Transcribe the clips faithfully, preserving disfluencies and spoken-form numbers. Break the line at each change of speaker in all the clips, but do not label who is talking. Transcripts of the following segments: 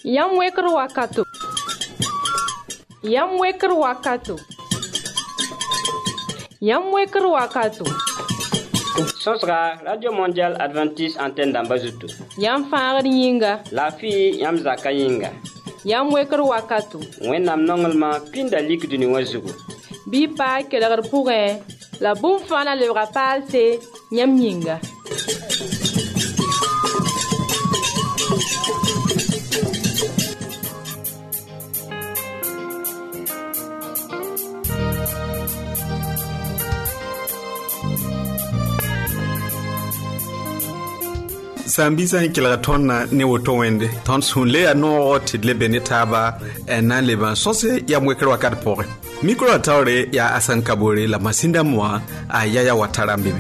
Yam weker wakato. Yam weker wakato. Yam weker wakato.
Sosra Radio Mondial Adventiste Antenne d'Ambazutu.
Yam fagar yinga.
La fille yam zaka yinga.
Yam weker wakato.
Wennam nongelma pinda lik duni wazugu.
Bi pa keler pourre. La boum fana le rapal c'est yam yinga.
Sambisa hinkila tonna ne woto wende ton sunle ano tidle benetaba ena leba sose ya mwekero wakati pore mikro atawre ya Asan Kabore la masinda mwa ayaya watara mbibi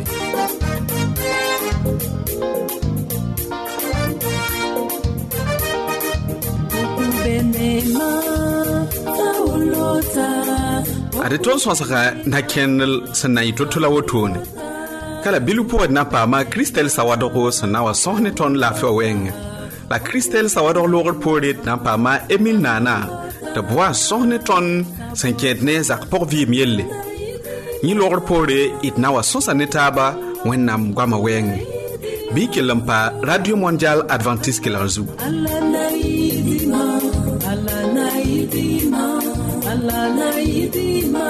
ade ton sosaka na kenel sanai totula wotone kala bilupo na pa ma Christelle Sawadoro sana wa sohne ton la faweng la Christelle Sawadoro lor poret na pa ma Emile Nana de bois sohne ton sanketne zak por vi mielle ni lor pore it na wa sosa netaba wennam gwama weng bi kelampa Radio Mondial Adventiste kelarzu
Allah naidima Allah naidima Allah naidima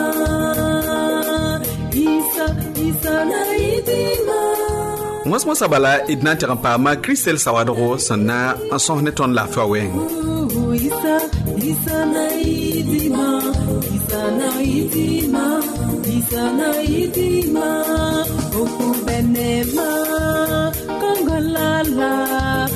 Isa Isa naidima
Mwasma sabala idna terampa ma Christelle Sawadoro sana en sohne ton la faweng
Isa Isa naidima Isa naidima Isa naidima Okubenema Kongolala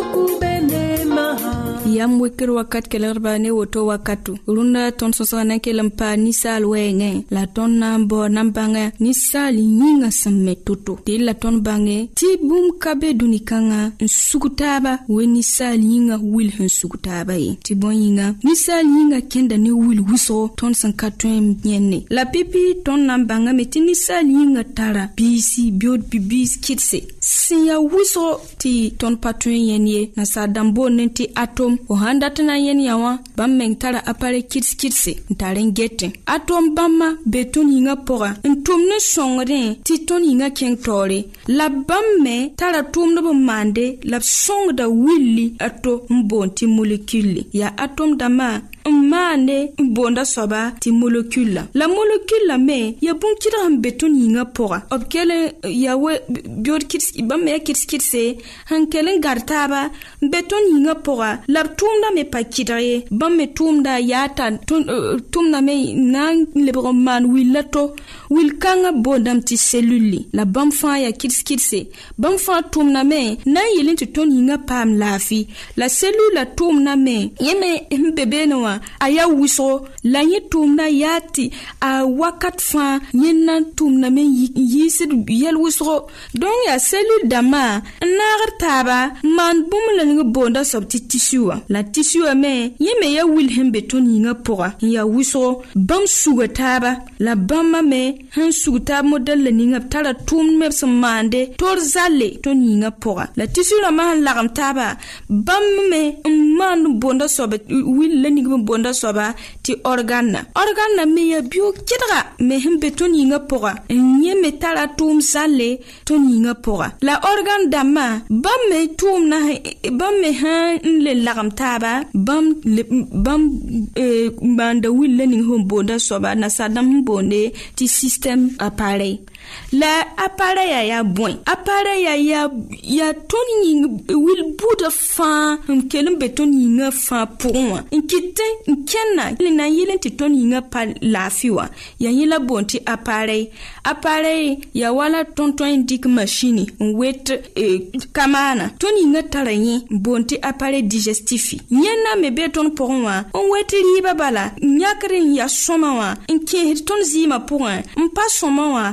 Okubenema
Yam weker wakat kelerba ne woto wakatu runda ton sosana kelampa nisal wenge la ton nambo nambanga nisal nyinga sametuto de la ton bange ti bum kabe dunikanga nsukutaba we nisal nyinga wil nsukutaba e ti bonyinga nisal nyinga kenda ne wil wiso ton sankatwen nyenne la pipi ton nambanga meti nisal nyinga tara bisi biod bibis kitse siya wiso ti ton patwen yenye na sadambo nenti atom o handatana yen yawa bammeng tara apare kits kitse ntaren gete atom bamma beton yinga pora ntumne songre ti ton yinga kentore la bamme tara tumno bo mande la songda willi ato mbonti molecule ya atom dama mane bonda soba ti molecule la molecule me ya bunkira beton yinga pora obkele yawe biod kits bamme kits kitse hankelen gartaba beton yinga pora la tumda me pakidare bamme tumda yata tumda me nan lebro man wilato wilkanga bodam ti cellule la bamfa ya kits kitse bamfa tumna me na yelin ti ton yinga pam lafi la cellule la tumna me yeme mbebe no aya wiso la yi tumna yati a wakat fa yinna tumna me yisid yel wiso don ya cellule dama nagartaba man bumla nga bonda sabti tissue la tissue me yeme ya wilhelm beton yinga pora ya wiso bam sugataba la bamma me han sugata model la ninga tara tum me mande tor zalle ton yinga pora la tissue la man lagam taba bam me man bonda sobe wil la ninga bonda soba ti organa organa me ya bio kidra me hem beton yinga pora nyeme tara tum zalle ton yinga pora la organ dama bam me tum na bam me han le lagam taba bam le, bam eh, banda wil learning home bonda soba na sadam bonde ti system appareil la appareil ya bon appareil ya ya ya toni wil buda fa kelem beton yinga fa pour nkite nkenna lina yelen ti toni yinga pa lafiwa ya yela bonti appareil appareil ya wala tonton indique machine wet eh, kamana toni yinga taranyi bonti appareil digestif nyena me beton pour moi on weti riba bala nyakrin ya soma wa nke ton zima pour un mpa soma wa ti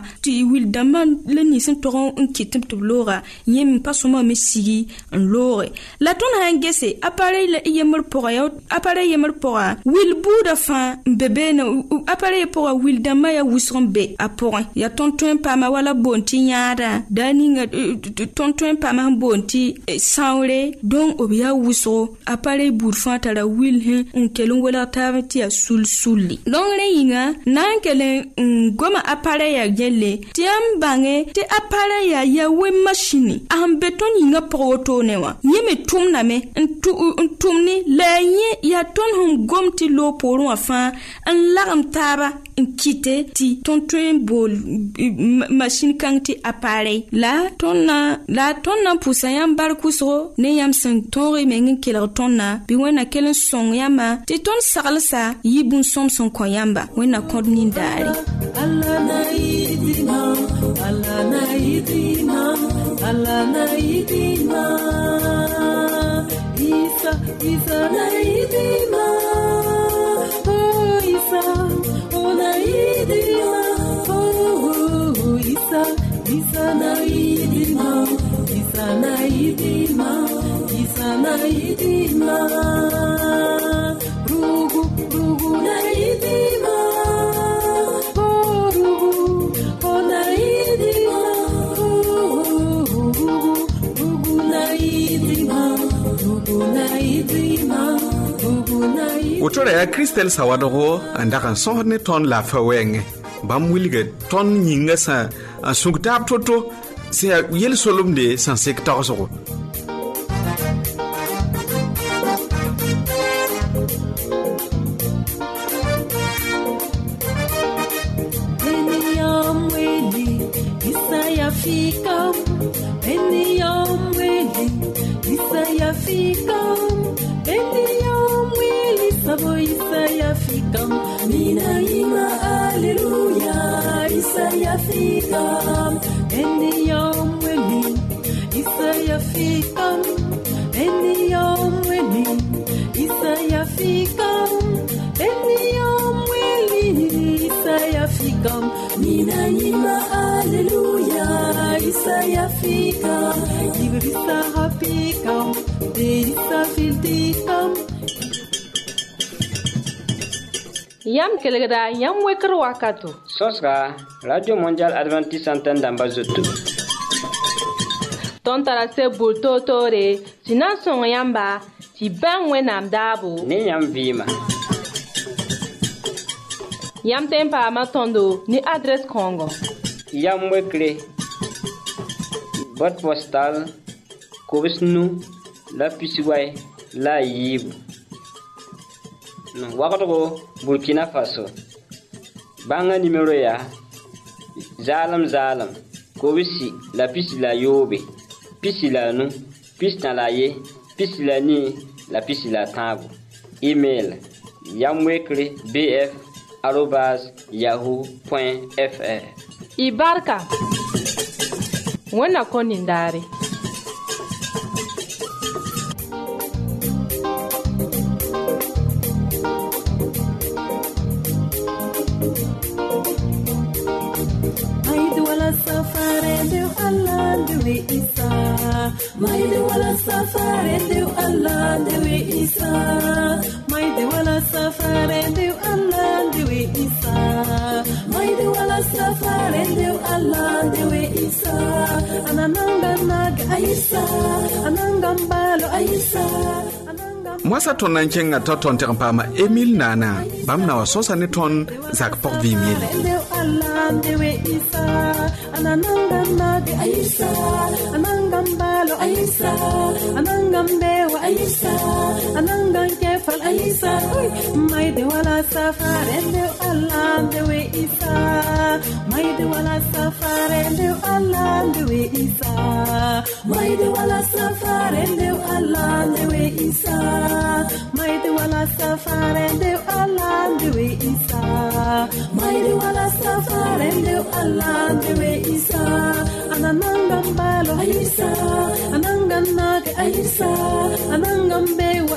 wil dama le ni sen toron un kitim to lora yem pasoma me sigi en lore la ton hangese appareil le yemur pour ya appareil yemur pour wil buda fa bébé na appareil pour wil dama ya wisron be apora ya ton ton pa ma wala bonti nyaada dani nga ton ton pa ma bonti saure don obia wisro appareil bur fa tara wil he un kelun wala tavati ya sul sulli don le yinga nan kelen goma appareil ya gelle tiam bange te appareil ya ya we machine am beton yinga proto newa yeme tumna me tumni la ye ya ton hum gomti lo poru afa an lagam taba kite ti ton train bol machine kanti appareil la tonna la tonna pusayam barkuso ne yam san tori mengen kela tonna bi wena kelen song yama ti ton salsa yibun som son koyamba wena kodni dari
Allah naidima Allah naidima Allah naidima Isa Isa naidima oh Isa oh naidima oh Isa Isa naidima Isa naidima Isa naidima rugu rugu naidima
Otora ya Christelle Sawadogo andaka sonne ton la fawenge bam wilge ton nyinga sa sungtap toto se yel solumde san secteur so
Fikam, Beniyam Willi, Isaiah Fikam, Beniyam Willi, Sabo Isaiah Fikam, Nina Ima Alleluia, Isaiah Fikam, Beniyam Willi, Isaiah Fikam, Beniyam Willi, Isaiah Fikam, Beniyam Willi, Isaiah Fikam, Nina Ima Alleluia. Isaiah fikam, Ibrisa fikam, Deisa filtikam.
Yam kelegda yam wekr wakato.
Sosra Radio Mondial Adventiste Antenne d'Ambazoto.
Ton tarase bulto tore, sinan son yamba, ti ben wenam dabo.
Ni yam vima.
Yam tempa matondo ni adresse Congo.
Yam wekre. Boîte postale Kobisnu la Pisiway la Yib Wakato Burkina Faso Banga numéro ya Zalam Zalam Kobisi la Pisi la Yobe Pisi la Nu Pisi na la Ye Pisi la Ni la Pisi la Tabu Email yamwekre bf arobase yahoo point fr
Ibarka Wana konindari
Maidu wala safari ndio Allah ndio Isa Maidu wala safari ndio Allah ndio Isa Maidu wala safari ndio Allah ndio Isa Maidu wala safari ndio Allah ndio Isa Anananga naga Isa Ananga mbalo Isa
Mwasa ton nanchenga to ton terpama Emile Nana bamna wa sosa ne ton zak pok vimile
Ananga naga Isa Ananga mbalo Isa Ananga mbewa Isa Ananga kefal Isa Maide wala safari ndio Allah ndio Isa Maide wala safari ndio Allah ndio Isa Maide wala safari ndio Allah ndio Isa Maide wala safari ndio Allah ndio Isa Maide wala safari ndio Allah ndio Isa Ananga mbalo Isa Ananga naga Isa Ananga mbewa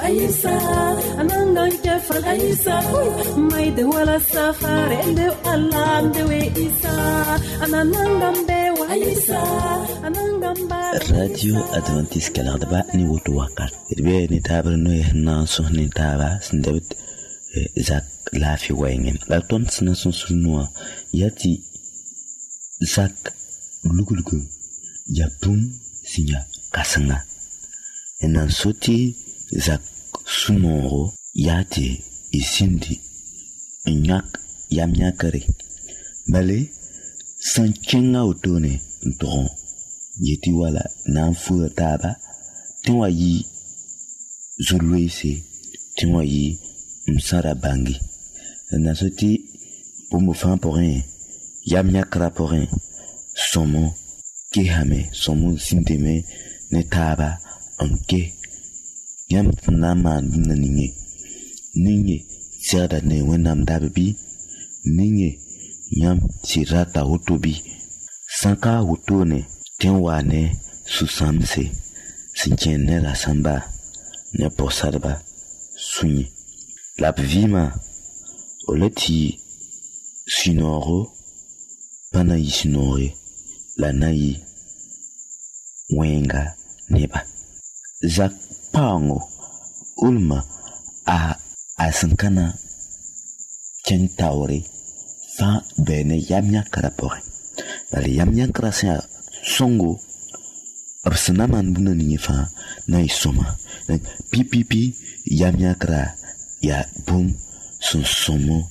Aisa, Anangan Kefal Aisa, my de Walla Safari, and the Alam de Way Isa, Anangan Bewa Aisa, Anangan
Radio Adventiste Calardaba ni woto wakat. Irbe ni tabar no na so ni taba sindabit Zak lafi wenge. La ton sina son sunwa yati Zak lugulgu yapum sinya kasanga. Enan soti Zak sunoro yati isindi nyak yamnyakare. Bale sanchenga otone ntron yeti wala nanfu taba tenwa yi zulwese tenwa yi msara bangi na soti pomo fan porin yamnyakra porin somo kehame somo sinteme ne taba anke yam nama ninge ninge sirada ne wenam dabi ninge yam sirata otobi sanka otone tenwane susamse sinchene la samba ne posarba sunyi la vima oleti sinoro pana isinore la nai wenga neba Zak pango ulma a asankana kentaure fa bene yamnya karapore bali yamnya krasa songo absanaman buna ni fa na isoma pipipi yamnya kra ya bum son somo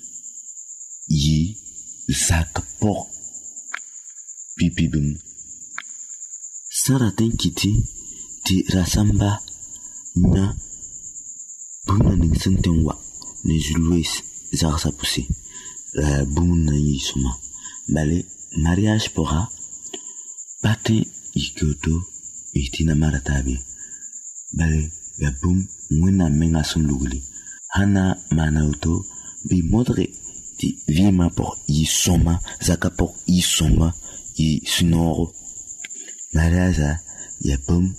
yi Zak por pipibum saraten kiti ti rasamba na buna ning sentenwa ne julwes zarsa poussé la buna yi soma bale mariage pora Pate ikoto itina maratabi bale ya bum mwena menga sunluguli hana manauto bi modre ti vima por i soma zaka por i soma i sunoro malaza ya bum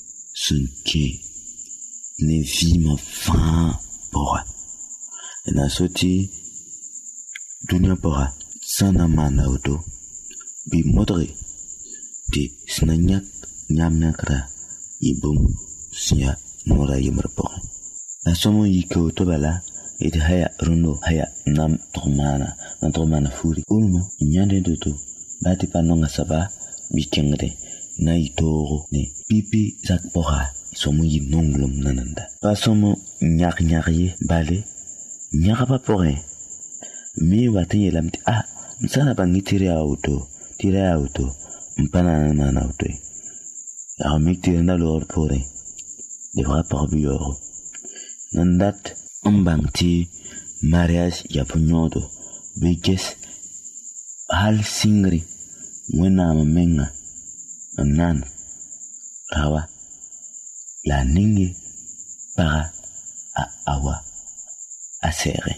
sunke ne vima fa pora na soti dunia pora sana manauto bi modre ti snanyak nyamnakra ibum siya mora yimrpo la somo yiko to bala et haya runo haya nam tomana nam tomana furi ulmo nyande doto bati panonga saba bikengre na itoro ne pipi zakpora somo yinonglum nananda pa somo nyak nyakye bale nyakapa pore mi wati lamti ah msana bangitire auto tire auto mpana na na auto ya mikti na lor pore devra par bioro nandat ambangti mariage ya punyodo beges hal singri wena mamenga nan rawa la ningi para a awa asere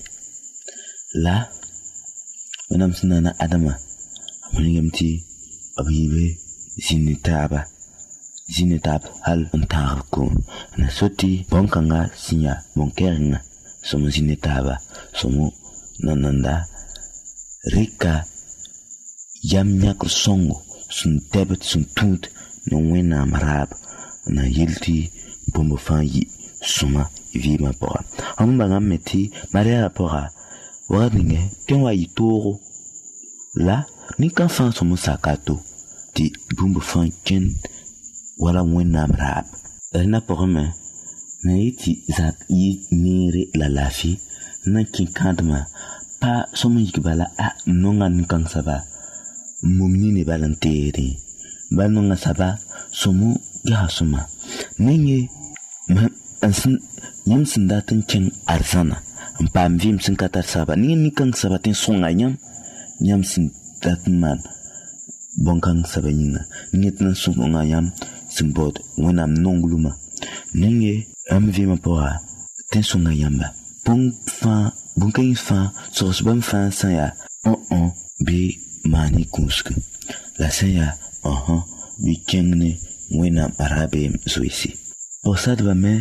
la wenam sunana adama amungamti abibe zinitaba zinitaba hal ontarko na soti bonkanga sinya bonkeringa somo zinitaba somo nananda rika yamnyak songo sun tebet sun tut no wena marab na yilti bombo fanyi suma vima pora amba ngameti maria pora wadinge tenwa itoro la ni kan fan somo sakato ti bombo fanken wala wena marab na porome na iti zak yi nere la lafi na kinkadma pa somo yikbala a nonga nikan saba mumni ne balanteri banonga saba somo ya suma nenye ansin yam sindatin kin arzana pam vim sin katar saba ni ni kan saba tin songa nyam nyam sin datin man bonkang saba nyina ni tin songa nyam sin bod wenam nongluma nenye am vim pora tin songa yamba bon fa bonkai fa sos bam fa sa ya on on bi mani kuske la sa ya aha bi kengne wena arabe zoisi posad ba me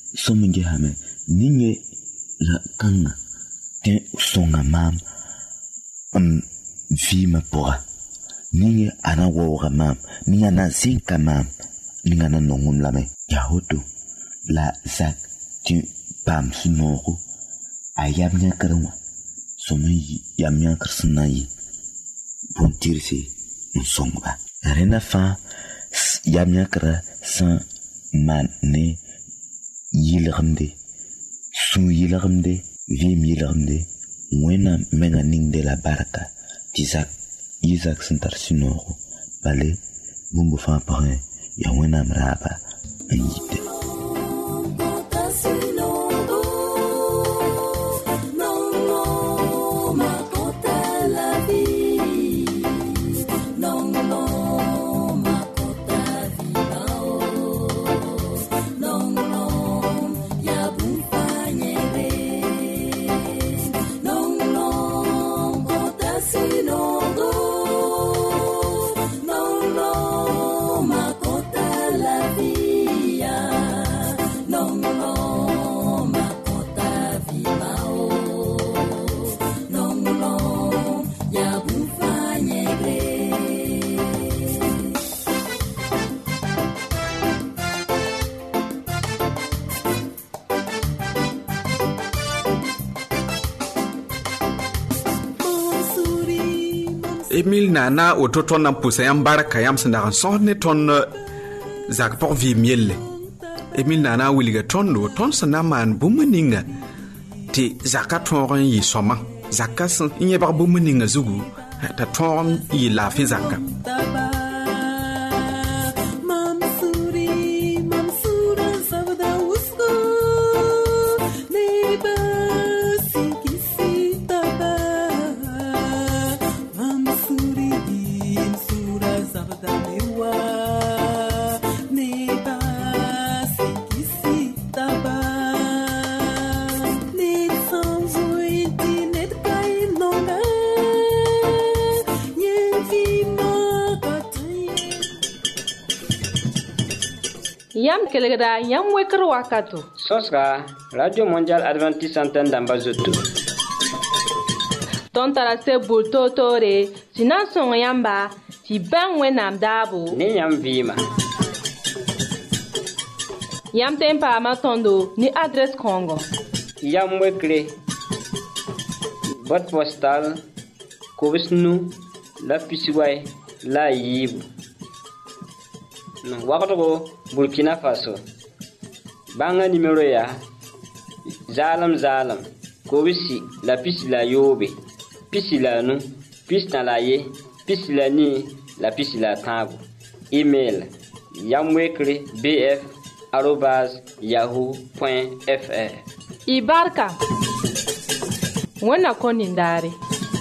sominge hame ninge la kanga ten songa mam um vima pora ninge ana woga mam ninga na zinka mam ninga na nongum lame ya hoto la zak tu pam sunoro ayam nya karwa somi yam nya karsna yi bon tirsi un songa rena fa yam nya kara san man ne yilgamde su yilgamde vim yilgamde wena menga ning de la baraka tizak Isaac sentar sinoro bale bumbu fa pare ya wena mraba ayite
Emil nana auto ton na pousse yam baraka yam sanda kan son ne ton zak por vi miel Emil nana wiliga ton do ton sana man bumuninga ti zakaton yi soma zakas inye bar bumuninga zugu ta ton yi la fi zakka
Yam kelegda yam wekr wakato.
Sosra Radio Mondial Adventiste Antenne d'Ambazoto.
Ton tarase bulto tore, sinan son yamba, ti ben wenam dabo.
Ni yam vima.
Yam tempa matondo ni adresse Congo.
Yam wekre. Boîte postale Kovisnu la Pisiway la Yibu. Wakato Burkina Faso. Banga numéro ya Zalam Zalam Kobisi la pisi la yobe pisi la nu pisi na la ye pisi la ni la pisi la tabu. Email yamwekre bf arobase yahoo point fr.
Ibarka wana konindare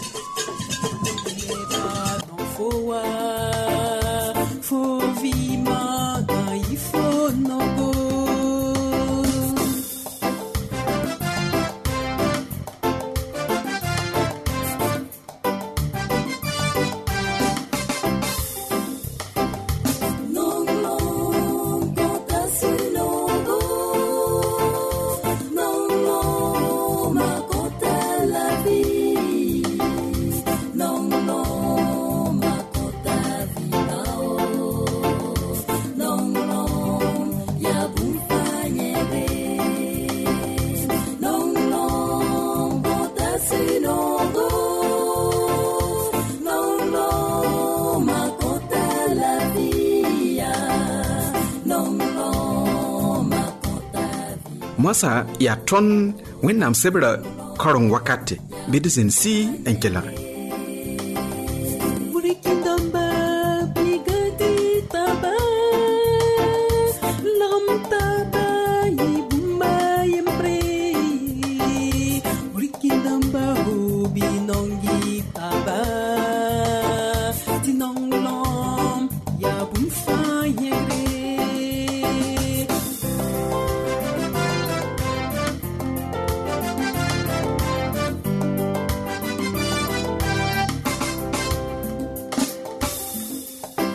Mwasa ya ton wenam sebra korong wakati bidizin si enkelare.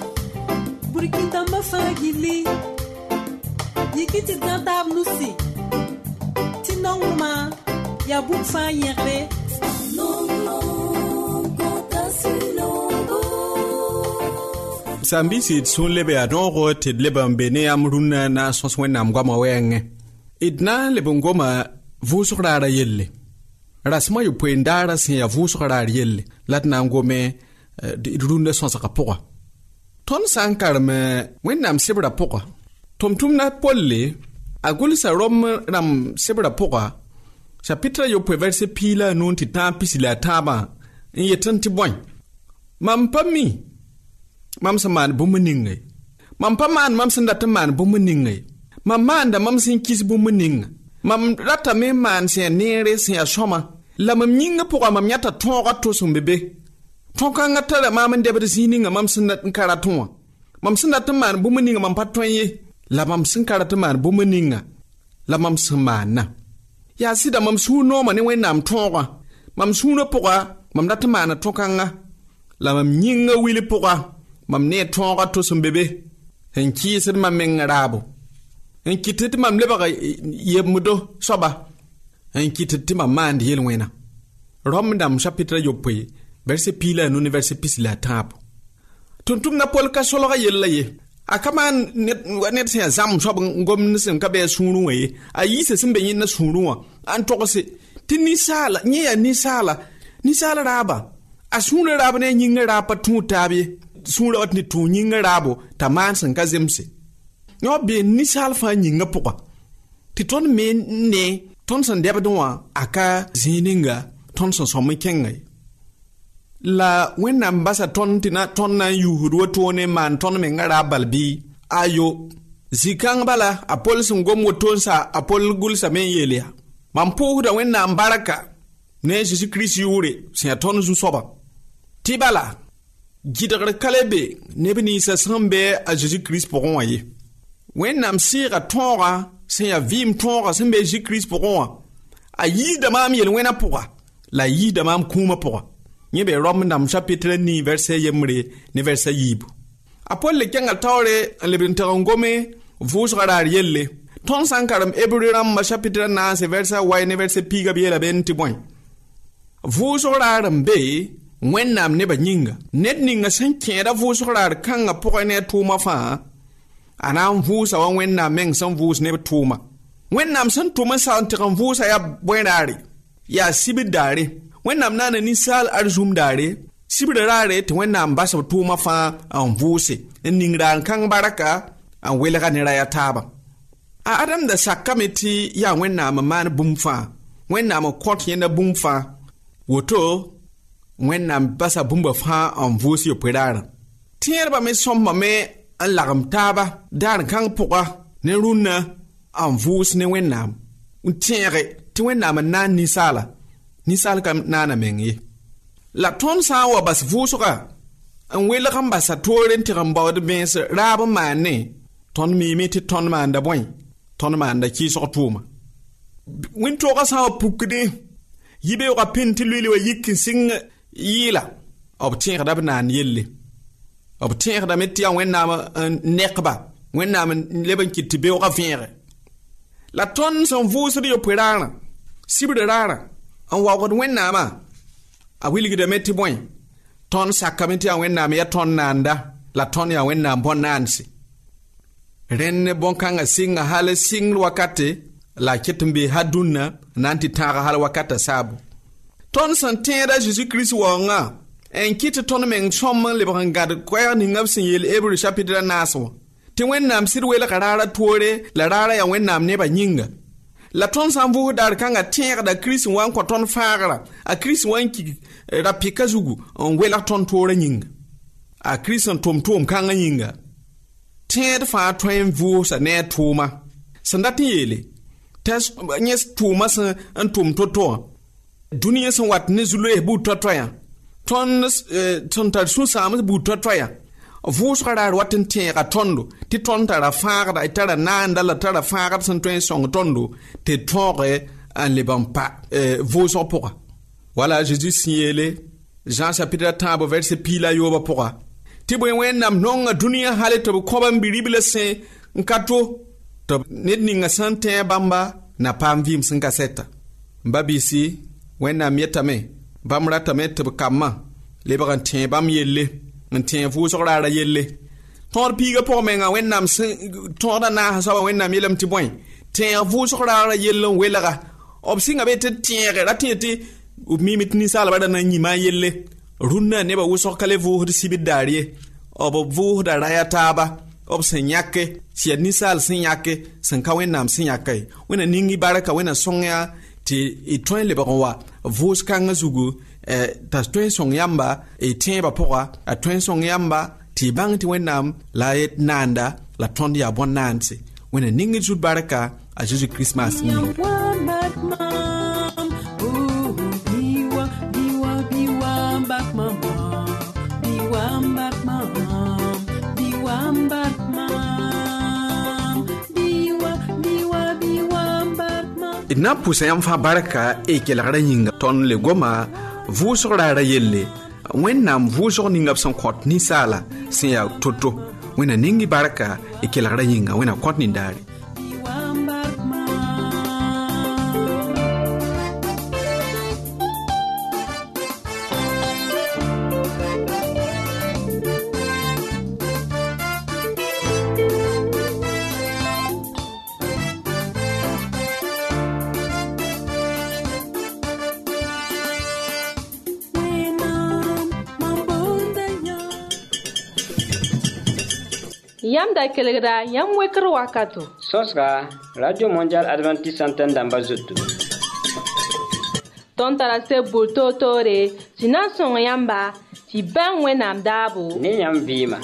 Burkina Faso, Yikiti Dantab Nusi. bũmb fãa yẽgre
Sambisi sun lebe a dongo te lebe mbene am runa na sos wẽnnaam goama wɛɛngẽ d na n leb n goma vʋʋsg raara yelle rasmã yopoen daara sẽn yaa vʋʋsg raar yelle la d na n gome d rũndã sõsga pʋga tõnd sã n karem wẽnnaam sebrã pʋga tʋm-tʋmdã polle a gʋlsa rom rãmb sebrã pʋga chapitre yopoe verse piila a nun tɩ tãag pisi la a tãabã n yet n tɩ bõe mam pa mi mam sẽn maan bũmb ningẽ mam pa maan mam sẽn dat n maan bũmb ningẽ mam maanda mam sẽn kis bũmb ninga mam ratame n maan sẽn yaa neere sẽn yaa sõma la mam yĩngã pʋga mam yãta tõogã to sẽn be be tõog-kãngã tara maam n dɛbd zĩig ninga mam sẽn dat n ka rat wã mam sẽn dat n maan bũmb ninga mam pa tõe ye la mam sẽn ka rat n maan bũmb ninga la mam sẽn maanna yaa sɩda mam sũur noomã ne wẽnnaam tõogã mam sũurã pʋga mam dat n maana tõg-kãngã la mam yĩngã wil pʋga mam ne tõogã to sẽn be be n kɩɩsd mam meng raabo n kɩtd tɩ mam lebg yembdo soaba n kɩtd tɩ mam maand yel-wẽna rom dãmb chapitre yopoe verse piila a nu ne verse pis la a tãabo tʋm-tʋmdã pol ka solga yella ye a ka maan ned sẽn yaa zãmb soab n gom sẽn ka bɩ a sũurẽ wã ye a yiisa sẽn be yẽnda sũurẽ wã a n togse tɩ ninsaala yẽ yaa ninsaala ninsaal raaba a sũurã raab ne a yĩngã raab pa tũud taab ye sũurã wat ne tũu yĩngã raabo t'a maan sẽn ka zemse yõ bee ninsaal fãa yĩngã pʋga tɩ tõnd me ne tõnd sẽn dɛbd wã a ka zĩig ninga tõnd sẽn sõm n kẽngã ye la wẽnnaam basa tõnd tɩ tõnd na n yuusd wotone n maan tõnd mengã raab bal bɩ ayo zĩ-kãng bala a pol sẽn gom woton sa a pol gʋlsame n yeel yaa mam pʋʋsda wẽnnaam barka ne a Zeezi Kirist yʋʋre sẽn yaa tõnd zu-soaba tɩ bala gɩdgr ka le be neb ninsã sẽn be a Zeezi Kirist pʋgẽ wã ye wẽnnaam sɩɩga tõoga sẽn yaa vɩɩm tõoga sẽn be a Zeezi Kirist pʋgẽ wã a yiisda maam yel-wẽna pʋga la a yiisda maam kũumã pʋga yẽ be rom dãmb chapitre ni verse yembre ne verse yiibu a pol le kẽnga taoore n leb n tag n gome vʋʋsga raar yelle tõnd sã n karem hebreu rãmbã chapitre naase verse a wai ne verse piiga b yeela ben tɩ bõe vʋʋsg raar n be wẽnnaam nebã yĩnga ned ninga sẽn kẽeda vʋʋsg raar kãngã pʋgẽ ne a tʋʋmã fãa a na n vʋʋsa wa wẽnnaam meng sẽn vʋʋs neb tʋʋma wẽnnaam sẽn tʋm n sag n tɩg n vʋʋsa yaa bõe raare yaa sibd daare wẽnnaam naana ninsaal arzum daare sibra raare tɩ wẽnnaam basb tʋʋmã fãa n vʋʋse n ning raan kãng barka n welga ne raya taaba a adam da sakame tɩ yaa wẽnnaam n maan bũmb fãa wẽnnaam n kõt yẽnda bũmb fãa woto wẽnnaam basa bũmba fãa n vʋʋs yopoe raarã tẽedbã me sõmbame n lagem taaba daar kãng pʋga ne rũnnã n vʋʋs ne wẽnnaam n tẽege tɩ wẽnnaam n naan ninsaala ninsaal ka naana meng ye la tõnd sã n wa bas vʋʋsga n welg n basa toore n tɩg n baood bẽes raab n maanne tõnd miime tɩ tõnd maanda bõe tõnd maanda kɩɩsg tʋʋma wẽn-toogã sã n wa pukdẽ yibeoogã pẽn tɩ loeele wa yik n sɩng yɩɩla b tẽegda b naan yelle b tẽegdame tɩ yaa wẽnnaam n nekba wẽnnaam n leb n kɩt tɩ beoogã vẽege la tõnd sẽn vʋʋsd yopoe raarã sibra raarã n waoogd wẽnnaamã a wilgdame tɩ bõe tõnd sakame tɩ yaa wẽnnaam yaa tõnd naanda la tõnd yaa wẽnnaam bõn-naandse rẽnd bõn-kãngã sɩnga hal sɩngr wakate la ket n be ha dũnnã na n tɩ tãaga hal wakata saabu tõnd sẽn tẽeda Zeezi Kirist waoongã n kɩt tõnd meng sõm n lebg n gãd koɛɛg ninga b sẽn yeel hebreu chapitre naas wã tɩ wẽnnaam sɩd welga raara toore la raara yaa wẽnnaam nebã yĩnga la tõnd sã n vʋʋs daar kãngã tẽegda Kirist n wa n kõ tõnd faagra a Kirist wa n kig ra-pɩka zugu n welg tõnd toorã yĩnga a Kirist n tʋm tʋʋm kãngã yĩnga tẽed fãa tõe n vʋʋsa ne a tʋʋma sẽn dat n yeele t'a yẽ tʋʋmã sẽn n tʋm to-to wã dũniyã sẽn wat ne zu-loees buud toa-toayã tõnd sẽn tar sũ-sãams buud toa-toayã vʋʋsga raar wat n tẽega tõndo tɩ tõnd tara fãagda y tara naanda la tara fãagd sẽn tõe n sõng tõndo tɩ tõoge n leb n pa vʋʋsg pʋga wala a Zeezi sẽn yeele Jean chapitre tãabo verse piila yoobã pʋga tɩ bõe wẽnnaam nonga dũniyã hale tɩ b kõba n bi-ribla sẽ n ka to tɩ ned ninga sẽn tẽ bãmba na paam vɩɩm sẽn ka sɛta Babisi, wẽnnaam yetame, bãmb ratame tɩ b kamma, lebg n tẽ bãmb yelle, n tẽ vʋʋsg raara yelle. Tõod piiga pʋgẽ menga wẽnnaam sẽn tõoda naasa soaba wẽnnaam yeelame tɩ bõe, tẽ vʋʋsg raara yell n welga. B sɩnga be tɩ tẽege ra tẽ tɩ b miime tɩ ninsaalbã ra na n yĩma a yelle. Rũnnã nebã wʋsg ka le vʋʋsd sibd daar ye. B vʋʋsda raya taaba. B sẽn yãke, tɩ yaa ninsaal sẽn yãke, sẽn ka wẽnnaam sẽn yãka ye. Wẽnna ningi barka wẽnna sõng-yã tɩ y tõe n lebg n wa vʋʋs kãngã zugu t'a tõe n sõng yãmba y tẽebã pʋga, a tõe n sõng yãmba tɩ y bãng tɩ wẽnnaam la y naanda la tõnd yaa bõn-naandse. Wẽnna ning d zut barka a Zeezi Kiristmas yĩnga. D na n pʋsa yãmb fãa barka y kelgra yĩnga tõnd le goma vʋʋsg raara yelle wẽnnaam vʋʋsg ninga b sẽn kõt ninsaala sẽn yaa to-to. Wẽnna ningi barka y kelgra yĩnga wẽnna kõt nindaare.
Yam da kelgra yam wekr wakato.
Sosga Radio Mondial Adventist Antenne damba zutu.
Ton tarase bulto tore, sinan son yamba, ti ben wenam dabo.
Ni yam vima.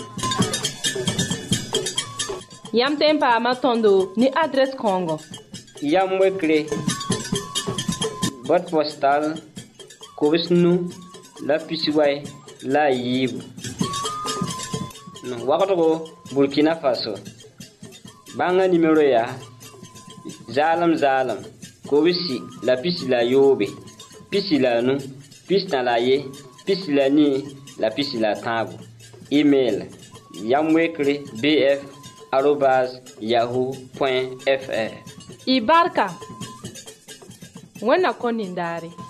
Yam tempa ma tondo ni adres Congo.
Yam wekre. Boîte postale Kobisnu la Pisiway la Yibu. No wakato Burkina Faso. Banga numéro ya Zalam Zalam Kobisi la pisi la yobe pisi la nu pisi na la ye pisi la ni la pisi la tabu. Email yamwekre bf arobase yahoo point fr.
Ibarka Wena konindari.